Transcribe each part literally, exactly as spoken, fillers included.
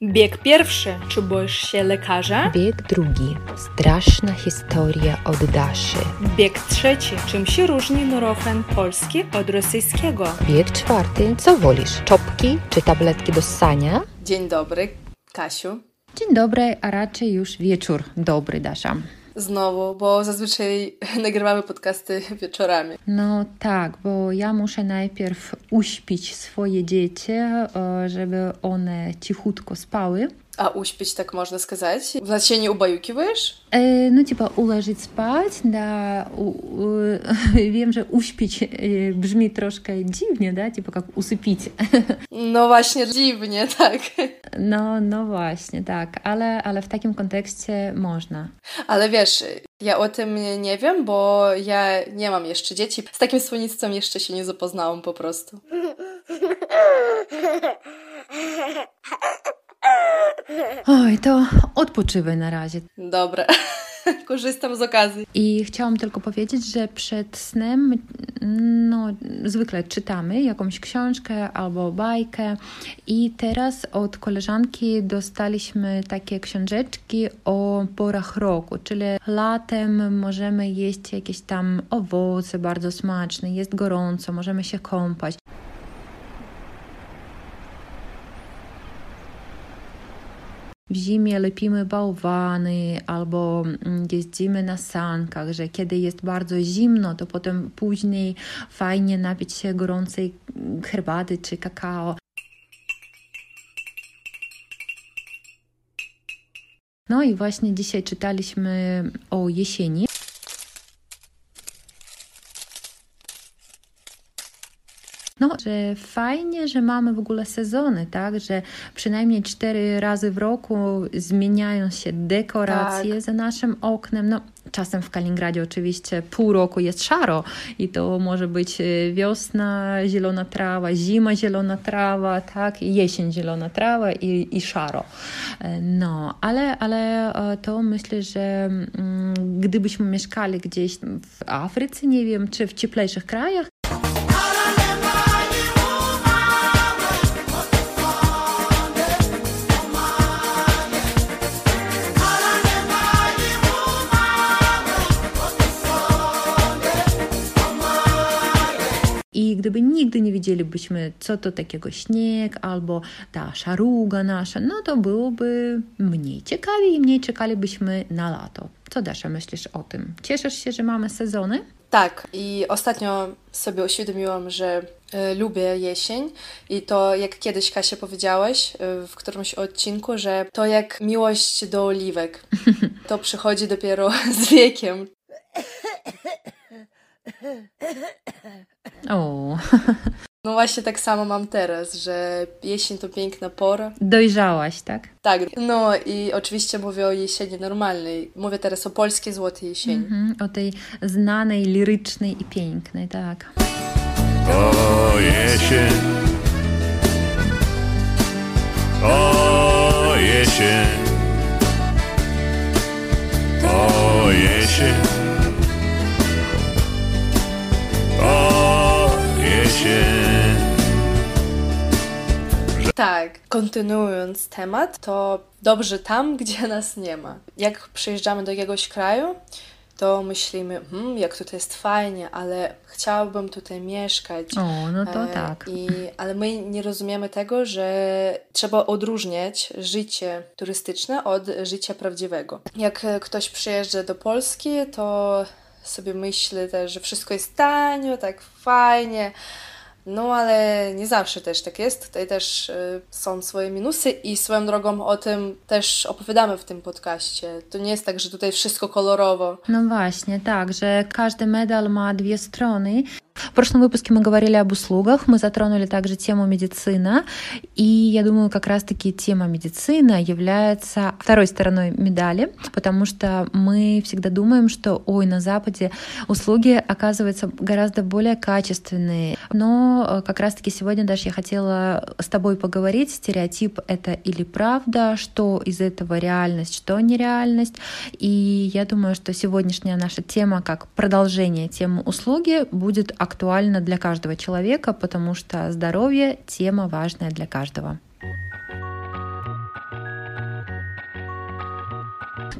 Bieg pierwszy. Czy boisz się lekarza? Bieg drugi. Straszna historia od Daszy. Bieg trzeci. Czym się różni nurofen polski od rosyjskiego? Bieg czwarty. Co wolisz? Czopki czy tabletki do ssania? Dzień dobry, Kasiu. Dzień dobry, a raczej już wieczór dobry, Dasza. Znowu, bo zazwyczaj nagrywamy podcasty wieczorami. No tak, bo ja muszę najpierw uśpić swoje dzieci, żeby one cichutko spały. A uśpić, tak można сказать? Значит, się nie ubаюkiwujesz? E, no типа ułożyć spać, da, u, u, wiem, że uśpić e, brzmi troszkę dziwnie, da, tipo jak usypić. No właśnie, dziwnie, tak. No, no właśnie, tak, ale, ale w takim kontekście można. Ale wiesz, ja o tym nie wiem, bo ja nie mam jeszcze dzieci. Z takim słownictwem jeszcze się nie zapoznałam po prostu. Oj, to odpoczywaj na razie. Dobra, korzystam z okazji. I chciałam tylko powiedzieć, że przed snem no, zwykle czytamy jakąś książkę albo bajkę i teraz od koleżanki dostaliśmy takie książeczki o porach roku, czyli latem możemy jeść jakieś tam owoce bardzo smaczne, jest gorąco, możemy się kąpać. W zimie lepimy bałwany albo jeździmy na sankach, że kiedy jest bardzo zimno, to potem później fajnie napić się gorącej herbaty czy kakao. No i właśnie dzisiaj czytaliśmy o jesieni. No, że fajnie, że mamy w ogóle sezony, tak, że przynajmniej cztery razy w roku zmieniają się dekoracje tak. za naszym oknem. No, czasem w Kaliningradzie oczywiście pół roku jest szaro i to może być wiosna, zielona trawa, zima, zielona trawa, tak, jesień, zielona trawa i, i szaro. No, ale, ale to myślę, że mm, gdybyśmy mieszkali gdzieś w Afryce, nie wiem, czy w cieplejszych krajach, i gdyby nigdy nie wiedzielibyśmy, co to takiego śnieg albo ta szaruga nasza, no to byłoby mniej ciekawie i mniej czekalibyśmy na lato. Co, Dasza, myślisz o tym? Cieszysz się, że mamy sezony? Tak, i ostatnio sobie uświadomiłam, że y, lubię jesień i to, jak kiedyś, Kasia, powiedziałaś y, w którymś odcinku, że to jak miłość do oliwek. To przychodzi dopiero z wiekiem. O. No właśnie tak samo mam teraz, że jesień to piękna pora. Dojrzałaś, tak? Tak, no i oczywiście mówię o jesieni normalnej. Mówię teraz o polskiej złotej jesieni. Mm-hmm, o tej znanej, lirycznej i pięknej, tak. O jesień, o jesień, o jesień, o jesień. Tak, kontynuując temat, to dobrze tam, gdzie nas nie ma. Jak przyjeżdżamy do jakiegoś kraju, to myślimy, hmm, jak tutaj jest fajnie, ale chciałabym tutaj mieszkać. O, no to e, tak. I, ale my nie rozumiemy tego, że trzeba odróżniać życie turystyczne od życia prawdziwego. Jak ktoś przyjeżdża do Polski, to sobie myśli też, że wszystko jest tanio, tak fajnie. No ale nie zawsze też tak jest. Tutaj też y, są swoje minusy i swoją drogą o tym też opowiadamy w tym podcaście. To nie jest tak, że tutaj wszystko kolorowo. No właśnie, tak, że każdy medal ma dwie strony. В прошлом выпуске мы говорили об услугах, мы затронули также тему медицина, и я думаю, как раз-таки тема медицина является второй стороной медали, потому что мы всегда думаем, что ой, на Западе услуги оказываются гораздо более качественные. Но как раз-таки сегодня, Даша, я хотела с тобой поговорить, стереотип — это или правда, что из этого реальность, что нереальность, и я думаю, что сегодняшняя наша тема, как продолжение темы услуги, будет актуально для каждого человека, потому что здоровье — тема важная для каждого.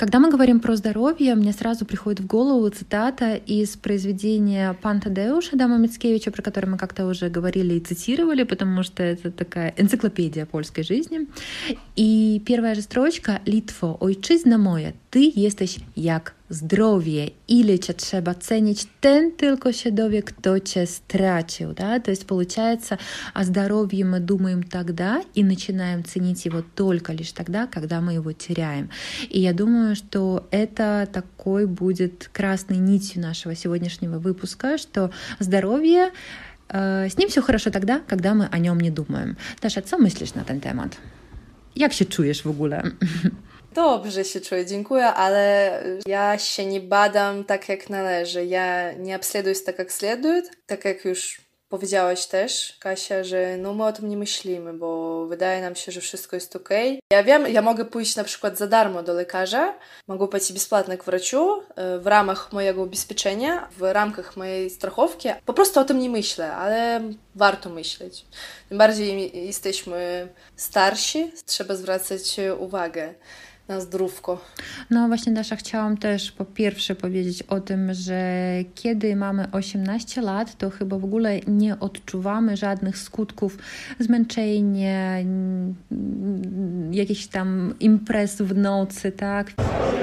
Когда мы говорим про здоровье, мне сразу приходит в голову цитата из произведения «Пан Тадеуш» Адама Мицкевича, про который мы как-то уже говорили и цитировали, потому что это такая энциклопедия польской жизни. И первая же строчка «Litwo, ojczyzna moja, ty jesteś jak zdrowie, ile cię trzeba cenić, ten tylko się dowie, кто cię stracił». Да? То есть получается, о здоровье мы думаем тогда и начинаем ценить его только лишь тогда, когда мы его теряем. И я думаю, что это такой будет красной нитью нашего сегодняшнего выпуска, что здоровье, э, с ним все хорошо тогда, когда мы о нем не думаем. Dasza, co myślisz na ten temat? Jak się czujesz w ogóle? Dobrze się czuję, dziękuję, ale ja się nie badam tak jak należy. Ja nie obsleduję tak jak следует, tak jak już powiedziałaś też, Kasia, że no my o tym nie myślimy, bo wydaje nam się, że wszystko jest okej. Ja wiem, ja mogę pójść na przykład za darmo do lekarza, mogę pójść бесплатно к врачу w ramach mojego ubezpieczenia, w ramach mojej strachowki. Po prostu o tym nie myślę, ale warto myśleć. Tym bardziej jesteśmy starsi, trzeba zwracać uwagę na zdrówko. No właśnie, Dasza, chciałam też po pierwsze powiedzieć o tym, że kiedy mamy osiemnaście lat, to chyba w ogóle nie odczuwamy żadnych skutków zmęczenia, jakichś tam imprez w nocy, tak?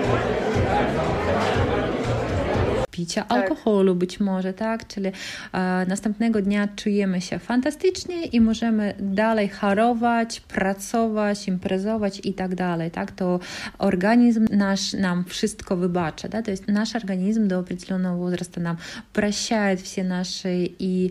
Picia tak. alkoholu być może, tak? Czyli e, następnego dnia czujemy się fantastycznie i możemy dalej chorować, pracować, imprezować i tak dalej, tak? To organizm nasz nam wszystko wybacza, да? То есть наш организм до определенного возраста нам прощает все наши и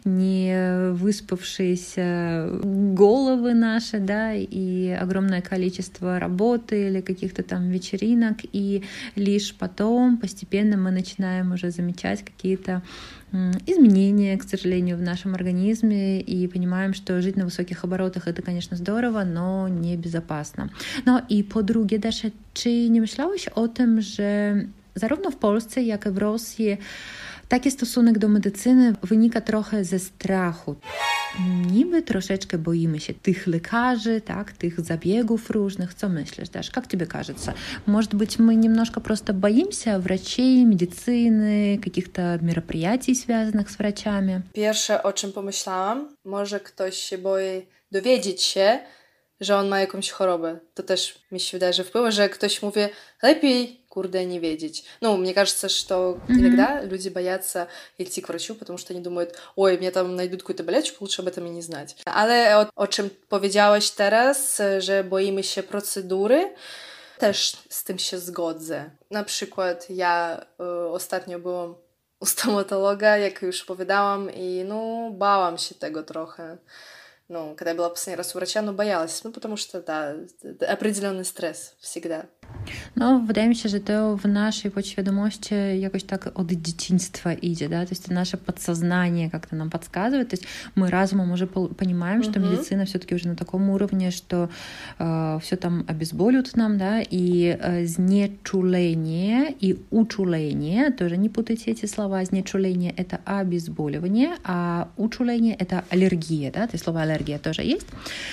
не выспавшиеся головы наши, да, и огромное количество работы или каких-то там вечеринок, и лишь потом постепенно мы начинаем уже замечать какие-то изменения, к сожалению, в нашем организме и понимаем, что жить на высоких оборотах это, конечно, здорово, но niebezpieczne. No i po drugie, Dasza, czy nie myślałeś o tym, że zarówno w Polsce, jak i w Rosji taki stosunek do medycyny wynika trochę ze strachu. Niby troszeczkę boimy się tych lekarzy, tak, tych zabiegów różnych. Co myślisz, Dasz? Как тебе кажется? Может быть, мы немножко просто боимся врачей, медицины, каких-то мероприятий, связанных z wracami? Pierwsze, o czym pomyślałam, może ktoś się boi dowiedzieć się, że on ma jakąś chorobę. To też mi się wydaje, że wpływa, że ktoś mówi, lepiej, курде, не видеть. Ну, мне кажется, что mm-hmm. иногда люди боятся идти к врачу, потому что они думают, ой, мне там найдут какую-то болячку, лучше об этом и не знать. Ale o, o czym powiedziałaś teraz, że boimy się procedury, też z tym się zgodzę. Na przykład ja y, ostatnio byłam u stomatologa, jak już opowiadałam, i no, bałam się tego trochę. Ну, когда я была последний раз у врача, ну, боялась. Ну, потому что, да, определенный стресс всегда. No, wydaje mi się, że to w naszej podświadomości jakoś tak od dzieciństwa idzie, да, то есть наше подсознание как-то нам подсказывает, то есть мы разумом уже понимаем, что mm-hmm. медицина все-таки уже на таком уровне, что э, все там обезболивают нам, да, и э, знечуление и учуление, тоже не путайте эти слова, знечуление — это обезболивание, а учуление — это аллергия, да, то есть слово аллергия тоже есть,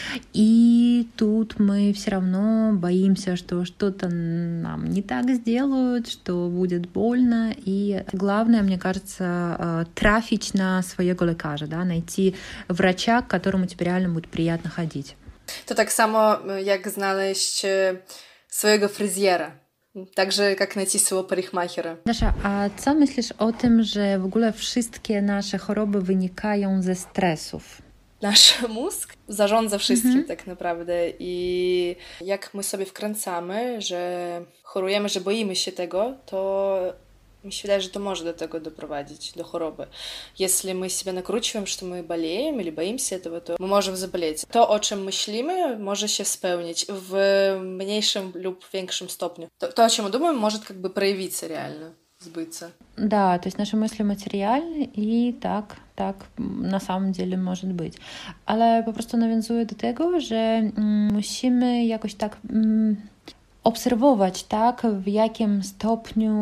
и тут мы все равно боимся, что что-то нам не так сделают, что будет больно. И главное, мне кажется, трафить на своего лекарza, да, найти врача, к которому тебе реально будет приятно ходить. To tak samo jak znaleźć swojego fryzjera. Także jak найти своего парикмахера. Dasza, a co myślisz o tym, że w ogóle wszystkie nasze choroby wynikają ze stresów? Nasz mózg zarządza wszystkim mhm. tak naprawdę i jak my sobie wkręcamy, że chorujemy, że boimy się tego, to mi się wydaje, że to może do tego doprowadzić, do choroby. Jeśli my себя накручиваем, что мы болеем или боимся этого, то мы можем заболеть. To, o czym myślimy, może się spełnić w mniejszym lub większym stopniu. To, to o czym думаем, может как бы проявиться реально. Сбыться. Да, то есть наши мысли материальны i tak, tak na samym деле może być. Ale po prostu nawiązuję do tego, że mm, musimy jakoś tak mm, obserwować, tak, w jakim stopniu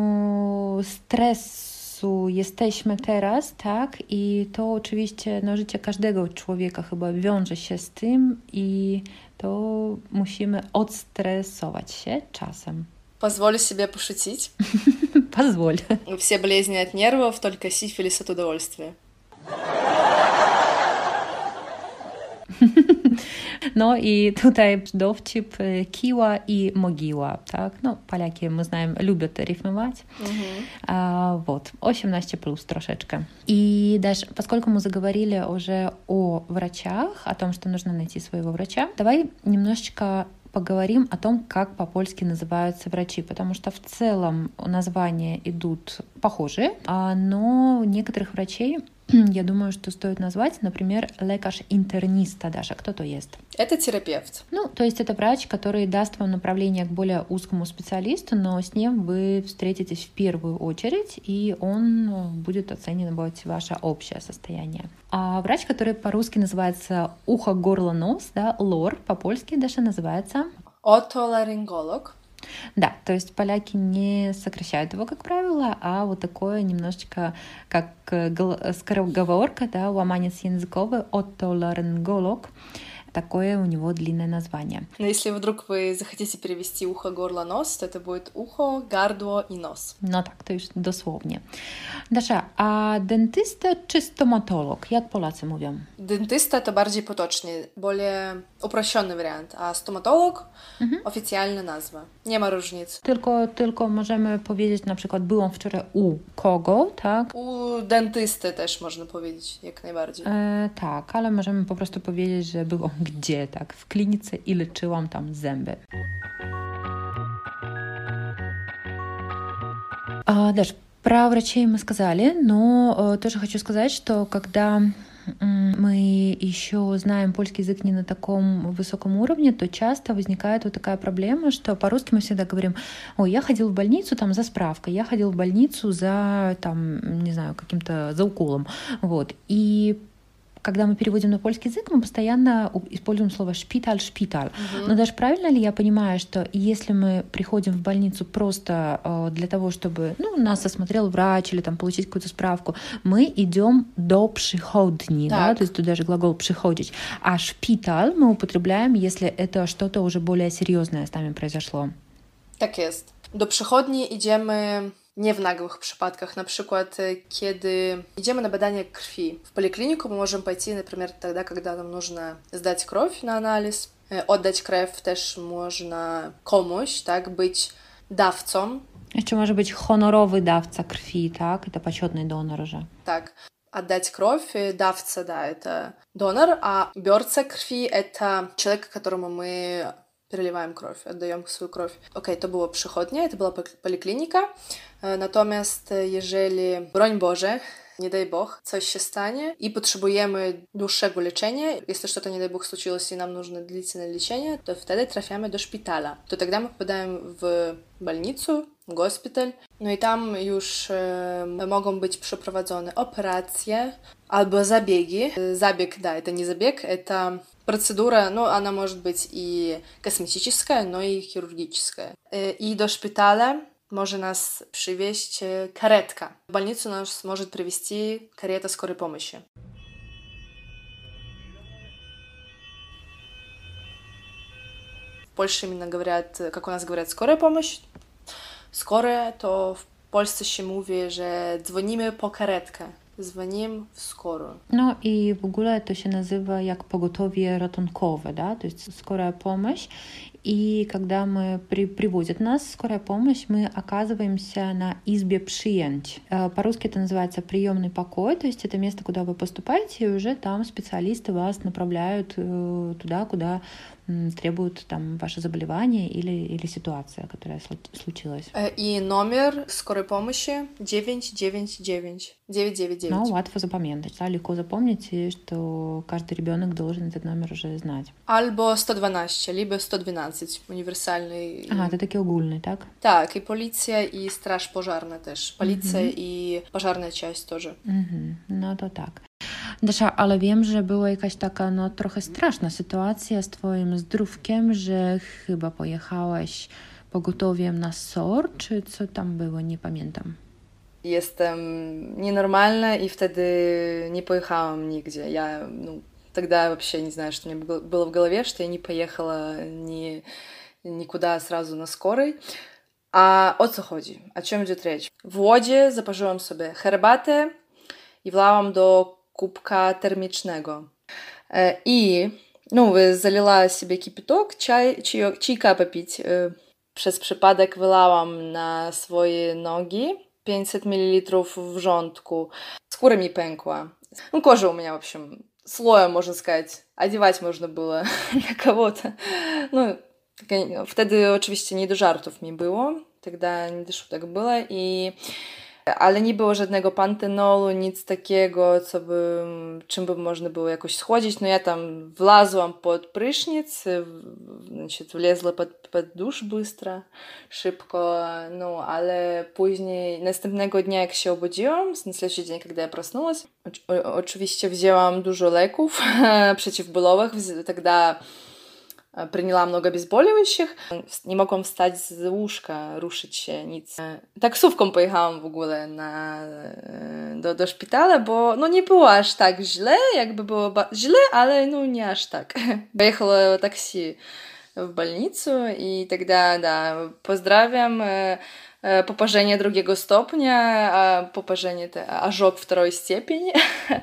stresu jesteśmy teraz, tak, i to oczywiście no, życie każdego człowieka chyba wiąże się z tym i to musimy odstresować się czasem. Позволю себе пошутить. Позволь. Все болезни от нервов, только сифилис от удовольствия. No i tutaj dowcip kiła i mogiła, tak? No, Polaki, my знаем, любят рифмовать. Угу. А, вот, osiemnaście plus troszeczkę. И даже, поскольку мы заговорили уже о врачах, о том, что нужно найти своего врача, давай немножечко поговорим о том, как по-польски называются врачи, потому что в целом названия идут похожие, но некоторых врачей, я думаю, что стоит назвать, например, лекарь-интерниста даже. Кто то есть? Это терапевт. Ну, то есть это врач, который даст вам направление к более узкому специалисту, но с ним вы встретитесь в первую очередь, и он будет оценивать ваше общее состояние. А врач, который по-русски называется ухо, горло, нос, да, лор, по-польски даже называется отоларинголог. Да, то есть поляки не сокращают его, как правило, а вот такое немножечко как скороговорка, да, ломанец языковый, отоларинголог. Такое у него длинное название. Но если вдруг вы захотите перевести ухо, горло, нос, то это будет ухо, гардło и нос. No tak, to już dosłownie. Dasza, a dentysta czy stomatolog? Jak Polacy mówią? Dentysta to bardziej potocznie, более uproszczony wariant, a stomatolog mhm. oficjalna nazwa. Nie ma różnic. Tylko, tylko możemy powiedzieć na przykład byłam wczoraj u kogo, tak? U dentysty też można powiedzieć, jak najbardziej. E, tak, ale możemy po prostu powiedzieć, że byłam gdzie, tak? W klinice i leczyłam tam zęby. А, Даш, про врачей мы сказали, но тоже хочу сказать, что когда мы еще знаем польский язык не на таком высоком уровне, то часто возникает вот такая проблема, что по-русски мы всегда говорим: ой, я ходил в больницу там за справкой, я ходил в больницу за, там, не знаю, каким-то, за уколом, вот, и когда мы переводим на польский язык, мы постоянно используем слово «шпиталь», «шпиталь». Uh-huh. Но даже правильно ли я понимаю, что если мы приходим в больницу просто э, для того, чтобы, ну, нас осмотрел врач или там получить какую-то справку, мы идем до przychodni, да, то есть тут даже глагол «przychodzić», а «шпиталь» мы употребляем, если это что-то уже более серьезное с нами произошло. Tak jest. Do przychodni idziemy nie w nagłych przypadkach, na przykład kiedy idziemy na badanie krwi. W polikliniku мы можем пойти, например, тогда, когда нам нужно сдать кровь на анализ. Oddać krew też można komuś, tak, być dawcą. Jeszcze może być honorowy dawca krwi, tak? Это почетный донор уже. Так, отдать кровь, dawca, да, это донор, а biorca krwi это человек, которому мы переливаем кровь, отдаем свою кровь. Okej, to było przychodnia, to była poliklinika. Natomiast jeżeli, broń Boże, nie daj Bог, coś się stanie i potrzebujemy dłuższego leczenia, если что-то, не дай Бог, случилось и нам нужно длительное лечение, то wtedy trafiamy do szpitala. To тогда мы попадаем w больницу, w госпиталь. No i tam już e, mogą być przeprowadzone operacje albo zabiegi. Zabieg, да, это не забег, это процедура, ну, она может быть и косметическая, но и хирургическая. И до szpitala może nas przywieźć karetka. W больницу нас может привезти карета скорой помощи. В Польше именно говорят, как у нас говорят, скорая помощь. Скорая, то в Polsce się mówi, że dzwonimy po karetkę. Dzwonimy w skoro. No i w ogóle to się nazywa jak pogotowie ratunkowe, да, то есть скорая помощь. И когда мы при, привозят нас скорая помощь, мы оказываемся на избе przyjęć. По-русски это называется приемный покой, то есть это место, куда вы поступаете, и уже там специалисты вас направляют туда, куда требуют там ваше заболевание или, или ситуация, которая случилась. И номер скорой помощи девять девять девять. девять девять девять. Ну, łatwo zapamiętać, да, легко запомнить, что каждый ребенок должен этот номер уже знать. Albo sto dwanaście, либо сто двенадцать, uniwersalny. Aha, to taki ogólny, tak? Tak, i policja, i straż pożarna też. Policja mm-hmm. i pożarna część też. Mm-hmm. No to tak. Dasza, ale wiem, że była jakaś taka no trochę straszna sytuacja z twoim zdrówkiem, że chyba pojechałaś pogotowiem na S O R, czy co tam było, nie pamiętam. Jestem nienormalna и wtedy не поехałam нигде. Я, ну, тогда вообще не знаю, что у меня было в голове, что я не поехала ни, никуда сразу на скорой. A o co chodzi? O czym idzie rzecz? W Łodzi zaparzyłam sobie herbatę i wlałam do kubka termicznego. I no, залила себе кипяток, чай, чай, чайка попить. Przez przypadek wylałam na swoje nogi pięćset mililitrów wrzątku. Skóra mi pękła. Ну, кожа у меня, в общем, слоем, можно сказать. Одевать можно было на кого-то. Ну, wtedy oczywiście nie do żartów mi było. Тогда nie do sztutek było. I... Ale nie było żadnego pantenolu, nic takiego, co by, czym by można było jakoś schłodzić. No ja tam wlazłam pod prysznic, значит, влезла pod, pod dusz bystro, szybko, no ale później, następnego dnia jak się obudziłam, na следующий dzień, kiedy ja prasнулась, o, oczywiście wzięłam dużo leków przeciwbólowych, тогда приняла много обезболивающих, nie mogłam wstać z łóżka, ruszyć się, nic. Taksówką pojechałam w ogóle na, do, do szpitala, bo no nie było aż tak źle, jakby było ba- źle, ale no nie aż tak. Поехала такси в больницу, и тогда, да, pozdrawiam, poparzenie drugiego stopnia, poparzenie, ожог wторой степени.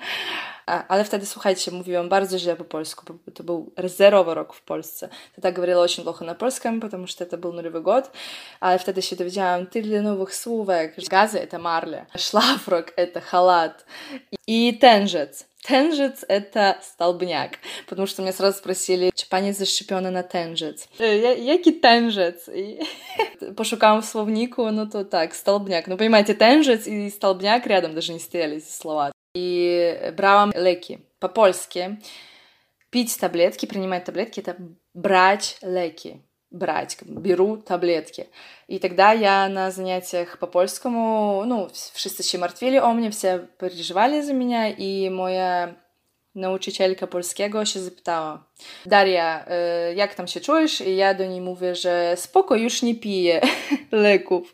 Ale wtedy, słuchajcie, mówiłam bardzo źle po polsku, bo to był zerowy rok w Polsce. Тогда говорила очень плохо на польском, потому что это был нулевой год. Ale wtedy się dowiedziałam tyle nowych słówek. Gazy to marle, szlafrok to халат и тенжец. Тенжец — это столбняк, потому что меня сразу спросили, czy pani zaszczepiona na tężec. Jaki tężec? Пошукałam w słowniku, no to tak, столбняк. No понимаете, тężec и столбняк рядом даже не стояли эти слова. И брałam лeki по-польски. Пить таблетки, принимать таблетки — это брать леки. Брать, беру таблетки. И тогда я на занятиях по-польскому, ну, wszyscy się martwili o mnie, все переживали за меня, и моя nauczycielka polskiego się zapytała: Daria, jak tam się czujesz? I ja do niej mówię, że spoko, już nie piję leków.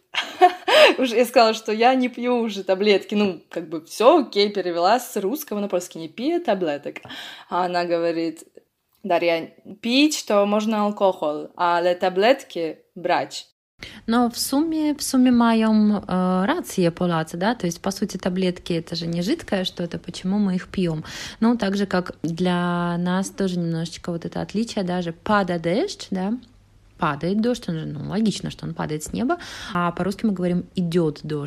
Я сказала, что я не пью уже таблетки. Ну, как бы все, окей, перевела с русского на польский, не пью таблеток. А она говорит: Daria, pić to można alkohol, ale tabletki brać. Но в сумме, в сумме маем э, рации Polacy, да, то есть, по сути, таблетки — это же не жидкое что-то, почему мы их пьем? Ну, так же, как для нас тоже немножечко вот это отличие, даже пада дождь, да, падает дождь, он же, ну, логично, что он падает с неба, а по-русски мы говорим «идет дождь».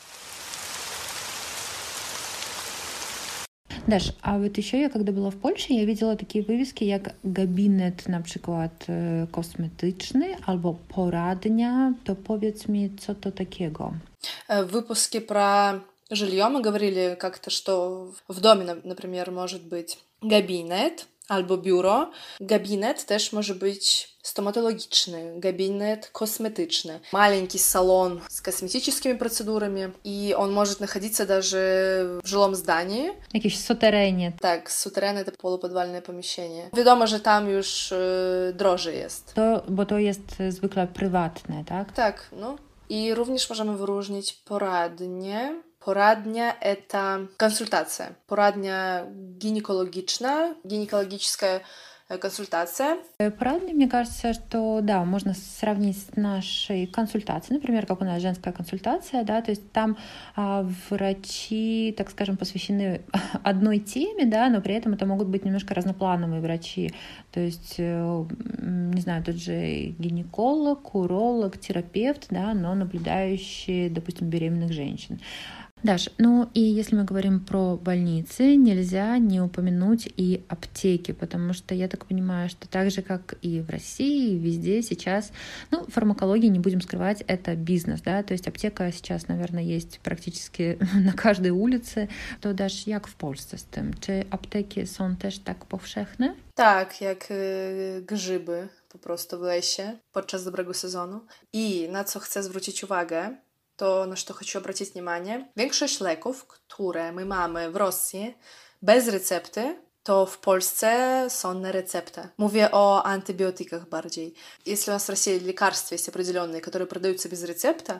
Даш, а вот еще я, когда была в Польsce, я видела такие wywieski jak gabinet na przykład kosmetyczny albo poradnia. To powiedz mi, co to takiego? В выпуске про жилье мы говорили как-то, что в доме, например, может быть gabinet albo biuro. Gabinet też może być stomatologiczny, gabinet kosmetyczny, маленький салон с косметическими процедурами, и он может находиться даже в жилом здании. Jakieś suterenie. Tak, sutereny — это полуподвальное помещение. Wiadomo, że tam już y, drożej jest. To, bo to jest zwykle prywatne, tak? Tak, no. I również możemy wyróżnić poradnie. Poradnia — это консультация. Порадня гинекологичная, гинекологическая консультация. Порадня, мне кажется, что да, можно сравнить с нашей консультацией, например, как у нас женская консультация, да, то есть там а, врачи, так скажем, посвящены одной теме, да, но при этом это могут быть немножко разноплановые врачи, то есть, не знаю, тот же гинеколог, уролог, терапевт, да, но наблюдающий, допустим, беременных женщин. Даш, ну и если мы говорим про больницы, нельзя не упомянуть и аптеки, потому что я так понимаю, что так же, как и в России, везде сейчас, ну, фармакология, не будем скрывать, это бизнес, да, то есть аптека сейчас, наверное, есть практически на каждej ulicy. To Dasz, jak w Polsce z tym? Czy apteki są też tak powszechne? Tak, jak y, grzyby po prostu w lesie podczas dobrego sezonu. I na co chcę zwrócić uwagę, to na co chcę zwrócić uwagę, większość leków, które my mamy w Rosji bez recepty, to w Polsce są na receptę. Mówię o antybiotykach bardziej. Если у нас в России лекарства есть определенные, которые продаются без рецепта,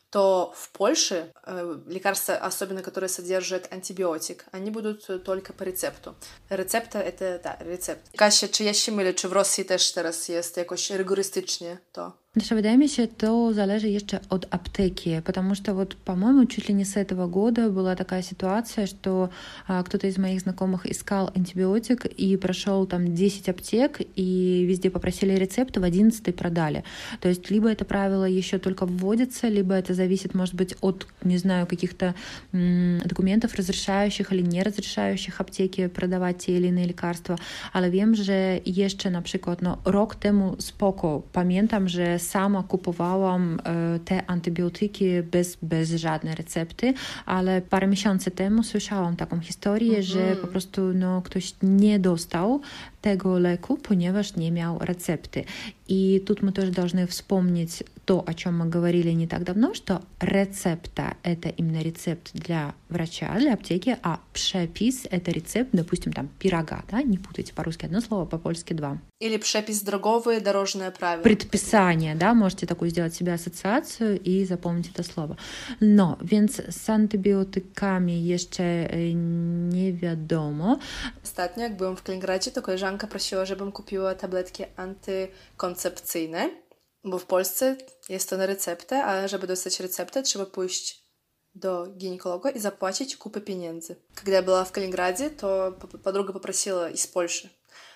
то в Польше э, лекарства, особенно которые содержат антибиотик, они будут только по рецепту. Рецепта — это, да, рецепт. Каsia, czy ja się mylę, czy w Rosji też teraz jest jakoś rygorystycznie to? Даже wydaje mi się, to zależy jeszcze od apteki, потому что вот, по-моему, чуть ли не с этого года была такая ситуация, что а, кто-то из моих знакомых искал антибиотик и прошел там десять аптек, и везде попросили рецепт, в одиннадцатой продали. То есть либо это правило еще только вводится, либо это зависит, может быть, от, не знаю, каких-то м- документов, разрешающих или не разрешающих аптеки продавать те или inne lekarstwa. Ale wiem, że jeszcze na przykład no, rok temu spoko, pamiętam, że sama kupowałam e, te antybiotyki bez, bez żadnej recepty, ale parę miesięcy temu słyszałam taką historię, mm-hmm. że po prostu no, ktoś nie dostał tego leku, ponieważ nie miał recepty. И тут мы тоже должны вспомнить то, о чем мы говорили не так давно, что рецепта — это именно рецепт для врача, для аптеки, а przepis — это рецепт, допустим, там, пирога, да, не путайте по-русски одно слово, по-польски два. Или przepis drogowy, дорожное правило. Предписание, да, можете такую сделать себе ассоциацию и запомнить это слово. No, więc z antybiotykami jeszcze nie wiadomo. Ostatnio, jak byłam w Kaliningradzie, to koleżanka prosiła, żebym kupiła tabletki antykoncepcyjne, bo w Polsce jest to na receptę, ale żeby dostać receptę, trzeba pójść do гинеколога и заплатить купу pieniędzy. Когда я была в Калининграде, то подруга попросила из Польши,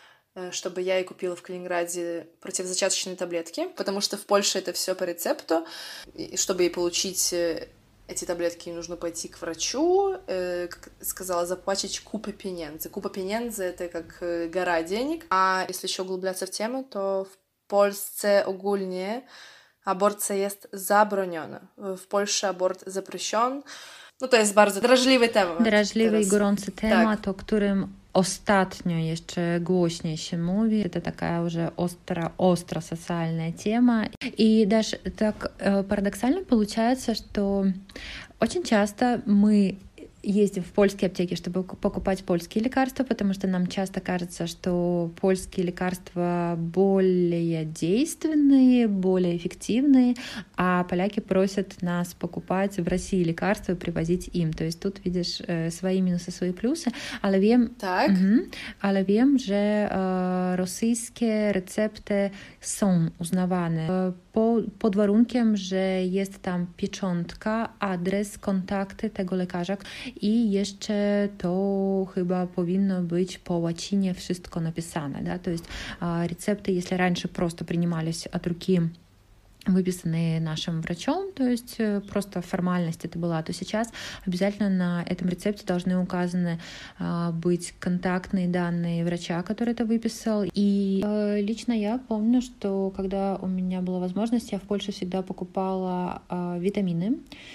чтобы я ей купила в Калининграде противозачаточные таблетки, потому что в Польше это все по рецепту, и чтобы ей получить эти таблетки, нужно пойти к врачу, э, как сказала, заплатить купу pieniędzy. Купа pieniędzy — это как гора денег. А если еще углубляться в тему, то w Polsce ogólnie aborcja jest zabroniona. W Polsce abort запрещен. No to jest bardzo drażliwy temat. Drażliwy teraz. i gorący temat, tak. o którym ostatnio jeszcze głośniej się mówi. Это такая уже остро, остро социальная тема. И даже так парадоксально получается, что очень часто мы ездим в польские аптеки, чтобы покупать польские лекарства, потому что нам часто кажется, что польские лекарства более действенные, более эффективные, а поляки просят нас покупать в России лекарства и привозить им. То есть тут видишь свои минусы, свои плюсы, ale wiem, tak. mhm, ale wiem, że e, rosyjskie recepty są uznawane e, po, pod warunkiem, że jest tam pieczątka, adres, kontakty tego lekarza. I jeszcze to chyba powinno być po łacinie wszystko napisane, да, то есть рецепты, если раньше просто принимались от руки, выписанные нашим врачом, то есть просто формальность это была, то сейчас обязательно на этом рецепте должны указаны а, быть контактные данные врача, который это выписал. И а, лично я помню, что когда у меня была возможность, я в Польше всегда покупала а, витамины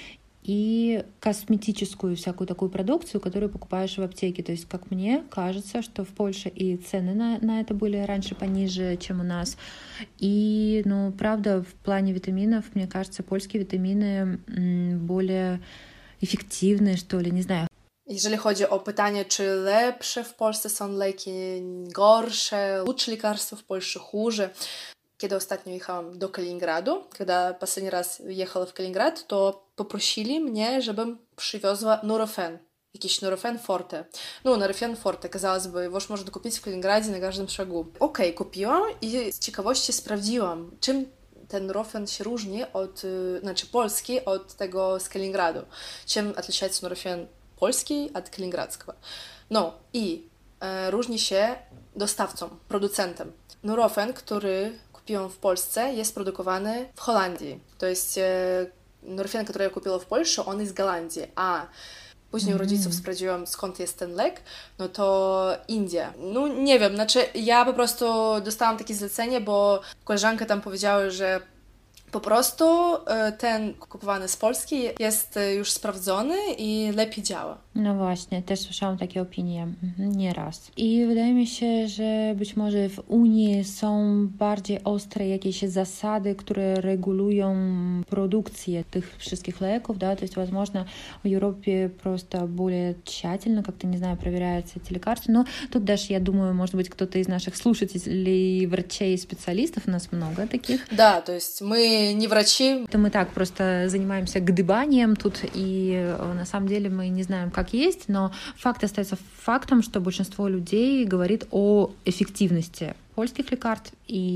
и косметическую всякую такую продукцию, которую покупаешь в аптеке. То есть, как мне кажется, что в Польше и цены на, на это были раньше пониже, чем у нас. И, ну, правда, в плане витаминов, мне кажется, польские витамины более эффективные, что ли, не знаю. Jeżeli chodzi o pytanie, czy lepsze w Polsce są leki, gorsze, лучше лекарства в Польше, хуже. Kiedy ostatnio jechałam do Kaliningradu, когда последний раз ехала в Калининград, то попросили mnie, żebym przywiozła Nurofen, jakiś Nurofen Forte. No, Nurofen Forte, казалось бы, его можно купить в Калининграде на каждом шагу. Okej, okay, kupiłam i z ciekawości sprawdziłam, czym ten Nurofen się różni od, znaczy polski, od tego z Kaliningradu. Czym отличается Nurofen polski od kaliningradzkiego. No i e, różni się dostawcą, producentem. Nurofen, który kupiłam w Polsce, jest produkowany w Holandii. To jest e, Nurofen, który ja kupiłam w Polsce, on jest z Holandii, a później u rodziców sprawdziłam, skąd jest ten lek, no to India. No nie wiem, znaczy ja po prostu dostałam takie zlecenie, bo koleżanka tam powiedziała, że po prostu ten kupowany z Polski jest już sprawdzony i lepiej działa. No właśnie, też słyszałam takie opinie mhm, nieraz. I wydaje mi się, że być może w Unii są bardziej ostre jakieś zasady, które regulują produkcję tych wszystkих леков, да, то есть, возможно, в Европе просто более тщательно, как-то, не знаю, проверяются эти лекарства. Но тут даже, я думаю, может быть, кто-то из наших слушателей, врачей, специалистов, у нас много таких. Да, то есть мы не врачи. Это мы так просто занимаемся гдыбанием тут, и на самом деле мы не знаем, как есть, но факт остается фактом, что большинство людей говорит о эффективности польских лекарств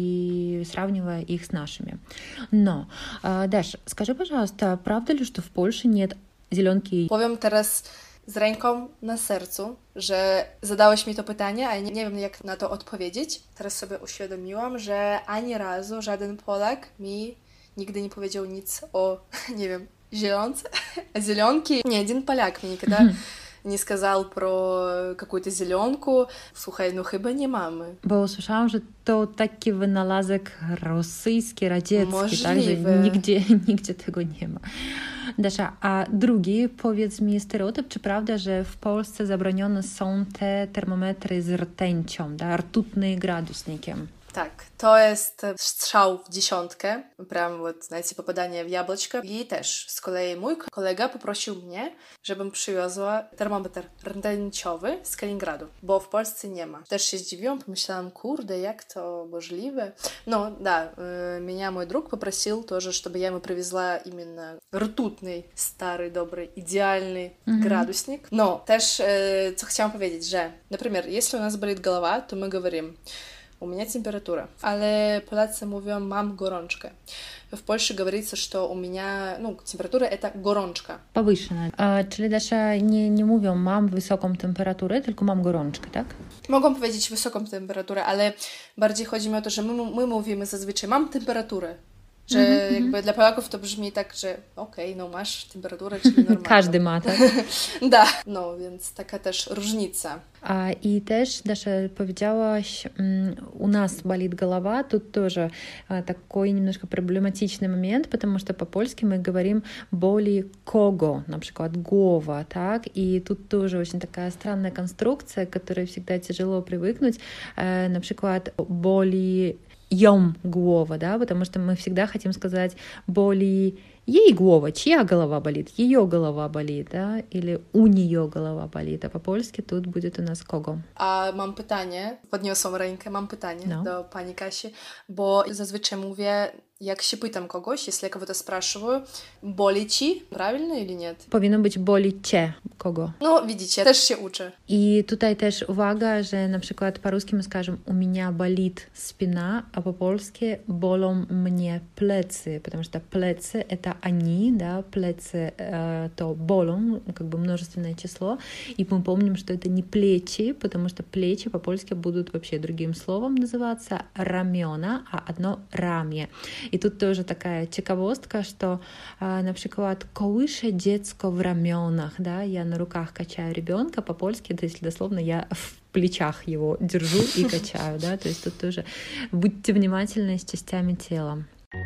и сравнивая их с нашими. Но, Даш, скажи, пожалуйста, правда ли, что в Польше нет зеленки? Powiem teraz z ręką na sercu, że zadałeś mi to pytanie, a nie, nie wiem, jak na to odpowiedzieć. Teraz sobie uświadomiłam, że ani razu żaden Polak mi nigdy nie powiedział nic o, nie wiem, зеленце, зеленки. Ни один поляк мне никогда не сказал про какую-то зеленку. Słuchaj, no chyba nie mamy. Bo usłyszałam, że to taki wynalazek rosyjski, radziecki, Możliwe. Także nigdzie, nigdzie tego nie ma. Dasza, a drugi, powiedz mi stereotyp, czy prawda, że w Polsce zabronione są te termometry z rtęcią, da, rtutnym gradusnikiem? Tak, to jest strzał w dziesiątkę, прям вот, знаете, попадание в яблочко. I też z kolei mój kolega poprosił mnie, żebym przywiozła termometr rtęciowy z Kaliningradu, bo w Polsce nie ma. Też się zdziwiłam, pomyślałam, kurde, jak to możliwe. No, да, меня мой друг попросил тоже, чтобы я ему привезла именно rtutny, stary, dobry, идеальный mm-hmm. градусник. Но też, co chciałam powiedzieć, że, например, если у нас болит голова, то мы говорим у меня температура. Ale Polacy mówią, mam gorączkę. W Polsce говорится, что у меня, ну, температура это gorączka. Powышенная. A, czyli Dasza nie, nie mówią, mam wysoką temperaturę, tylko mam gorączkę, tak? Mogą powiedzieć wysoką temperaturę, ale bardziej chodzi mi o to, że my, my mówimy zazwyczaj, mam temperaturę. Że mm-hmm. jakby dla Polaków to brzmi tak, że okej, okay, no masz temperaturę, czyli normalną. Każdy ma, tak? Da, no więc taka też różnica. А, и też, Даша, powiedziałaś, у нас болит голова, тут тоже а, такой немножко проблематичный момент, потому что по-польски мы говорим боли кого, например, гова, так, и тут тоже очень такая странная конструкция, к которой всегда тяжело привыкнуть, а, например, боли ем głова, да, потому что мы всегда хотим сказать боли ей głова, чья голова болит, ее голова болит, да, или у нее голова болит, а по-польски тут будет у нас kogo. A mam pytanie, podniosłam rękę, mam pytanie no. do pani Kasi, bo zazwyczaj mówię, jak się pytam kogoś, если я кого-то спрашиваю, boli ci, правильно или нет? Powinno być boli cię, kogo. No, widzicie, też się uczę. I tutaj też uwaga, że na przykład po-ruski my скажем у меня болит спина, а по-польски bolą mnie plecy, потому что plecy это они, да, plecy э, то bolą, как бы множественное число, и мы помним, что это не плечи, потому что плечи по-польски будут вообще другим словом называться ramiona, а одно ramię. I tu тоже такая ciekawostka, что, на przykład, kołyszę dziecko w ramionach, да, я на руках качаю ребенка, по-польски, то есть дословно я в плечах его держу и качаю, да, то есть тут тоже будьте внимательны с частями тела.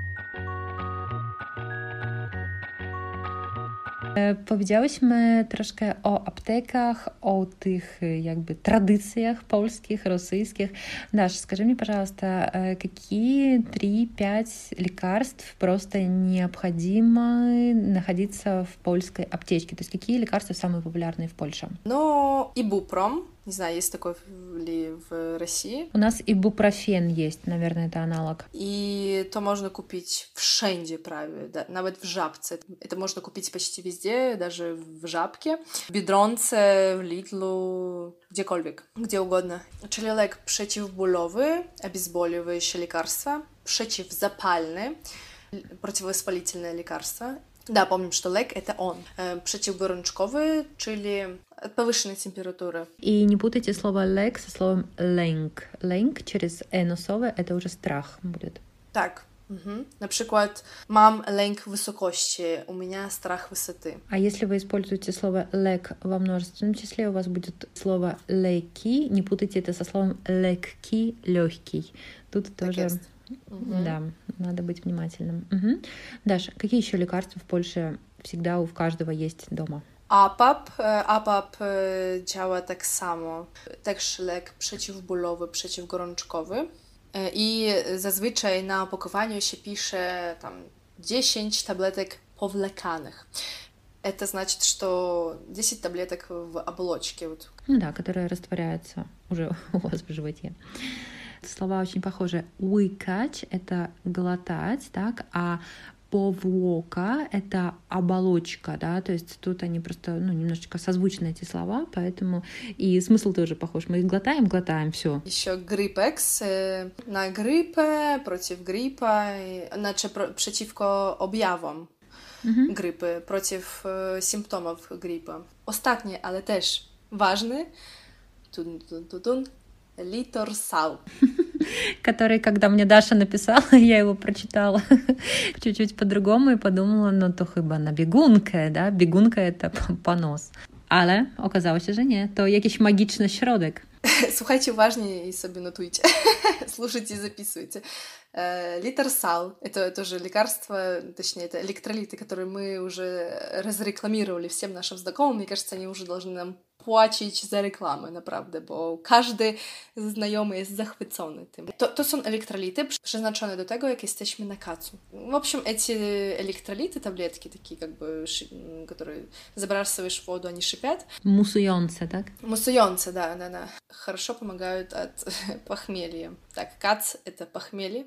Powiedziałyśmy troszkę o aptekach, o tych jakby tradycjach polskich, rosyjskих. Dasz, скажи мне, пожалуйста, какие три-пять лекарств просто необходимо находиться в польской аптечке? То есть какие лекарства самые популярные в Польше? Ну, ибупром. Не знаю, есть такой ли в России. У нас ибупрофен есть, наверное, это аналог. И то можно купить wszędzie prawie, да, nawet w Żabce. Это можно купить почти везде, даже в Żabке, в Biedronce, в Lidlu, gdziekolwiek, gdzie ugodно. Czyli lek przeciwbólowy, обезболивающее лекарство, przeciwzapalny, противовоспалительное лекарство. Да, помним, что лек — это он. Przeciwgorączkowy, czyli от повышенной температуры. И не путайте слово лек со словом лэнг. Лэнг через «э» носовое — это уже страх будет. Так. Угу. На przykład, mam lęk wysokości, у меня страх высоты. А если вы используете слово лек во множественном числе, у вас будет слово леки. Не путайте это со словом лекки, легкий. Тут так тоже... Есть. Угу. Да, надо быть внимательным. Угу. Даша, какие еще лекарства в Польше всегда у каждого есть дома? APAP. APAP działa tak samo. Też lek przeciwbólowy, przeciwgorączkowy. I zazwyczaj na opakowaniu się pisze tam dziesięć tabletek powlekanych. Это значит, что десять таблеток в оболочке. Вот. Ну да, которые растворяются уже у вас в животе. Слова очень похожи. Łykać — это глотать, так, а powłoka — это оболочка, да, то есть тут они просто, ну, немножечко созвучны эти слова, поэтому и смысл тоже похож. Мы глотаем, глотаем, все. Еще Grypex na grypę, przeciw grypa, znaczy przeciwko objawom mhm. grypy, przeciw symptomów grypy. Ostatni, ale też ważny, tun, tun, tun, tun, Litorsal. Который, когда мне Даша написала, я его прочитала чуть-чуть по-другому и подумала, no to chyba na biegunkę, да? Biegunka — это понос. Ale okazało się, że nie. To jakiś magiczny środek. Słuchajcie uważnie i sobie notujcie. Слушайте и записывайте. Литерсал — это тоже лекарство, точнее, это электролиты, которые мы уже разрекламировали всем нашим знакомым. Мне кажется, они уже должны нам płacić za reklamę, naprawdę, bo każdy znajomy jest zachwycony tym. To, to są elektrolity przeznaczone do tego, jak jesteśmy na kacu. В общем, эти электролиты, таблетки такие, как бы, которые забрасываешь в воду, они шипят. Мусуjące, tak? Мусуjące, да, да, да. Хорошо помогают от похмелья. Так, кац — это похмелье.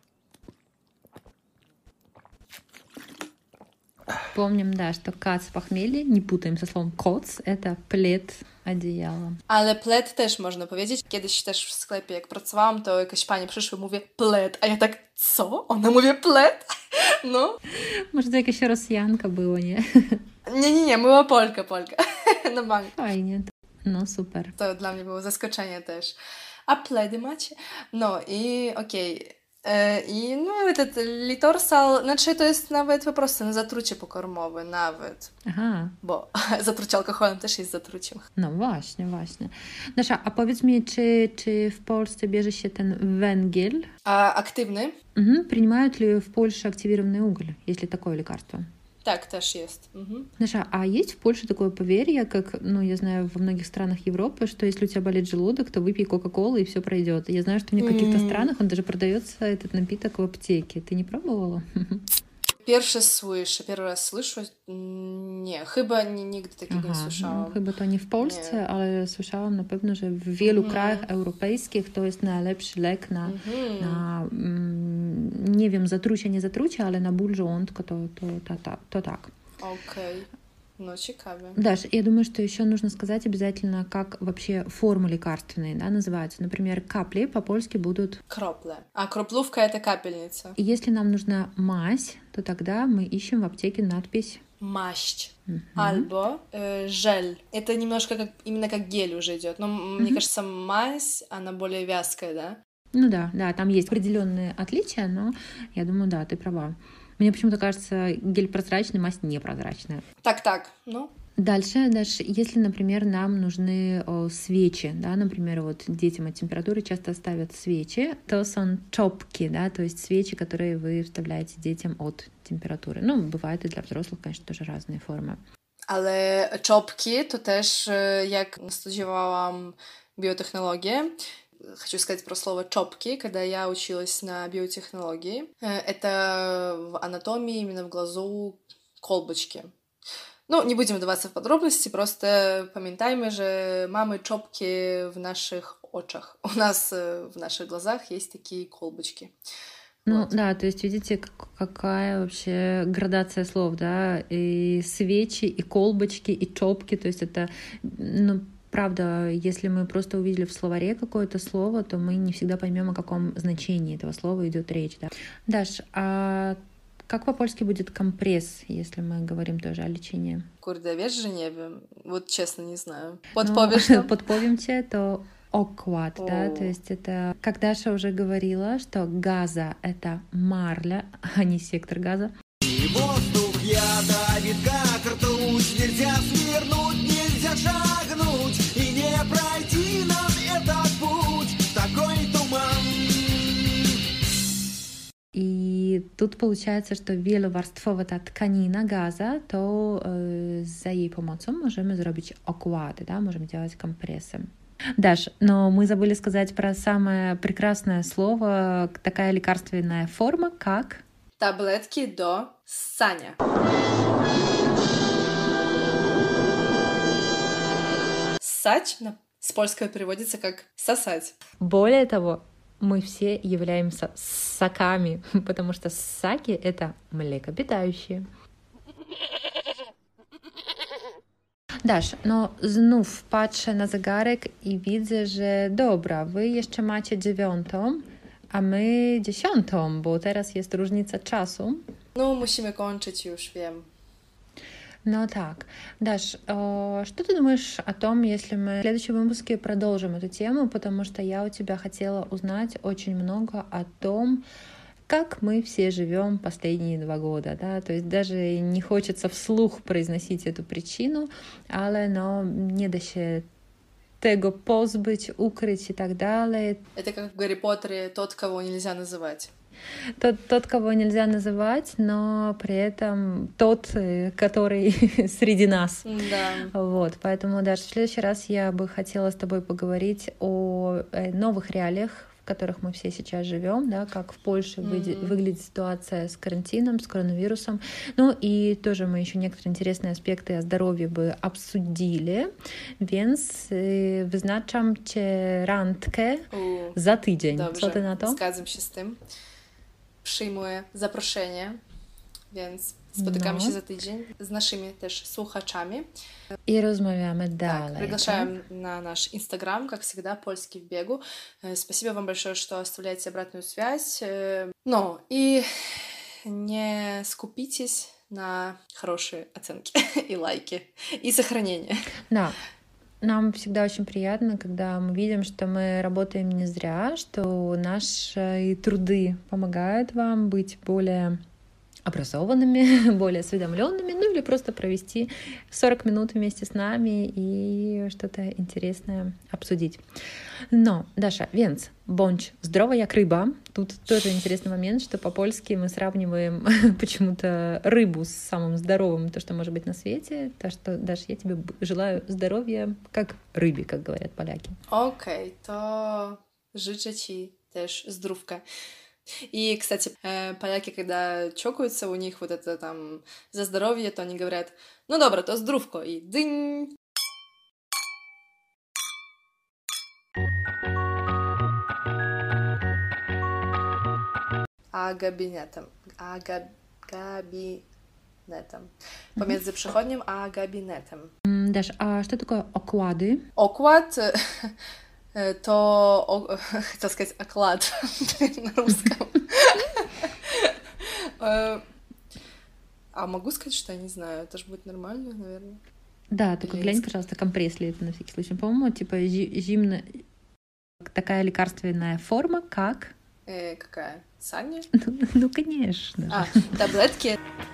Помним, да, что кац — похмелье, nie putaем со словом коц, это плед, одеяло. Ale pled też można powiedzieć. Kiedyś też w sklepie, jak pracowałam, to jakaś pani przyszła i mówi pled, a ja tak, co? Ona mówi pled? No. Może to jakaś Rosjanka było, nie? Nie, nie, nie, była Polka, Polka. Na bank. Fajnie, no super. To dla mnie było zaskoczenie też. A pledy macie? No i okej. Okay. I no этот Litorsal, znaczy to jest nawet po prostu na zatrucie pokarmowe, nawet. Aha. Bo zatrucie alkoholem też jest zatruciem. No właśnie, właśnie. Dasza, a powiedz mi, czy, czy w Polsce bierze się ten węgiel? A aktywny? Mhm. Принимают ли в Польше активированный уголь, если такое лекарство? Так, też jest. Mhm. Даша, а есть в Польше такое поверье, как, ну, я знаю, во многих странах Европы, что если у тебя болит желудок, то выпей Кока-Колу и все пройдет. Я знаю, что в каких-то mm. странах он даже продается, этот напиток, в аптеке. Ты не пробовала? Pierwszy słyszę, pierwszy raz słyszę. Nie, chyba nigdy takiego Aha, nie słyszałam. No, chyba to nie w Polsce, nie. Ale słyszałam na pewno, że w wielu mm. krajach europejskich to jest najlepszy lek na, mm. na mm, nie wiem, zatrucie, nie zatrucie, ale na ból żołądka to, to, to, to, to tak. Okej. Okay. Ну, ciekawe. Даш, я думаю, что еще нужно сказать обязательно, как вообще формы лекарственные, да, называются. Например, капли по-польски будут... Кропле. А кроплувка — это капельница. И если нам нужна мазь, то тогда мы ищем в аптеке надпись... Масть. Uh-huh. Albo э, жель. Это немножко как, именно как гель уже идет. Но uh-huh. мне кажется, мазь, она более вязкая, да? Ну да, да, там есть определенные отличия, но я думаю, да, ты права. Мне почему-то кажется, гель прозрачный, мазь непрозрачная. Так, так, ну. Дальше, дальше, если, например, нам нужны о, свечи, да, например, вот детям от температуры часто ставят свечи, то są czopki, да, то есть свечи, которые вы вставляете детям от температуры. Ну, бывает и для взрослых, конечно, тоже разные формы. Ale czopki to też, jak studiowałam biotechnologię, хочу сказать про слово чопки, когда я училась на биотехнологии. Это в анатомии, именно в глазу, колбочки. Ну, не будем вдаваться в подробности, просто пам'ятаємо, что mamy czopki в наших очах. У нас в наших глазах есть такие колбочки. Ну вот. Да, то есть видите, какая вообще градация слов, да, и свечи, и колбочки, и чопки, то есть это, ну, правда, если мы просто увидели в словаре какое-то слово, то мы не всегда поймем, о каком значении этого слова идет речь. Да? Даш, а как по-польски будет компресс, если мы говорим тоже о лечении? Kurde, wiesz, że nie wiem. Вот честно не знаю. Podpowiesz нам? Podpowiem cię, to окват, да, то есть это, как Даша уже говорила, что газа — это марля, а не сектор газа. И воздух ядовит, как ртуть, нельзя свернуть, нельзя шагнуть, и не пройти нам этот путь, такой туман. И тут получается, что wielowarstwowa ta tkanina gaza, to y, za jej pomocą możemy zrobić okłady, да, можем делать компрессы. Даш, но мы забыли сказать про самое прекрасное слово, такая лекарственная форма, как... Таблетки до ссания. Ссать с польского переводится как сосать. Более того, мы все являемся ссаками, потому что ссаки — это млекопитающие. Dasz, no znów patrzę na zegarek i widzę, że dobra, wy jeszcze macie dziewiątą, a my dziesiątą, bo teraz jest różnica czasu. Ну, musimy kończyć już, wiem. Ну так, Даш, э, что ты думаешь о том, если мы в следующем выпуске продолжим эту тему, потому что я у тебя хотела узнать очень много о том, как мы все живем последние два года, да, то есть даже не хочется вслух произносить эту причину, ale no, nie da się tego pozbyć, ukryć и так далее. Это как в Гарри Поттере тот, кого нельзя называть. Тот, тот, кого нельзя называть, но при этом тот, который среди нас. Да. Вот, поэтому даже в следующий раз я бы хотела с тобой поговорить о новых реалиях, в которых мы все сейчас живем, да, как в Польше mm-hmm. выглядит ситуация с карантином, с коронавирусом. Ну и тоже мы еще некоторые интересные аспекты о здоровье бы обсудили, więc wyznaczam cię randkę U, za tydzień. Dobrze, co ty na to? Zgadzam się z tym. Przyjmuję zaproszenie, więc spotykamy no. się za tydzień z naszymi też słuchaczami. I rozmawiamy dalej. Так, приглашаем так? на наш Инстаграм, как всегда, Польский в бегу. Спасибо вам большое, что оставляете обратную связь. Ну, и не скупитесь на хорошие оценки и лайки, и сохранение. Да. Нам всегда очень приятно, когда мы видим, что мы работаем не зря, что наши труды помогают вам быть более образованными, более осведомленными, ну или просто провести сорок минут вместе с нами и что-то интересное обсудить. No, Dasza, więc bądź zdrowa jak ryba. Тут тоже интересный момент, что по-польски мы сравниваем почему-то рыбу с самым здоровым, то, что может быть на свете. Так что, Dasz, я тебе желаю здоровья как рыбе, как говорят поляки. Окей, okay, то życzę ci też zdrówka. И, кстати, поляки, когда чокаются, у них вот это там за здоровье, то они говорят, ну добро, то здравко, и дынь. A gabinetem. A gab... gabinetem. Pomiędzy przychodnią a gabinetem. Dasz, a что такое окłady? Окład to, o, chcę сказать, оклад на русском. А могу сказать, что я не знаю, это же будет нормально, наверное. Да, только глянь, пожалуйста, компресс ли это на всякий случай. По-моему, типа зимная такая лекарственная форма, как... Э, какая? Саня? Ну, ну, конечно. А, таблетки.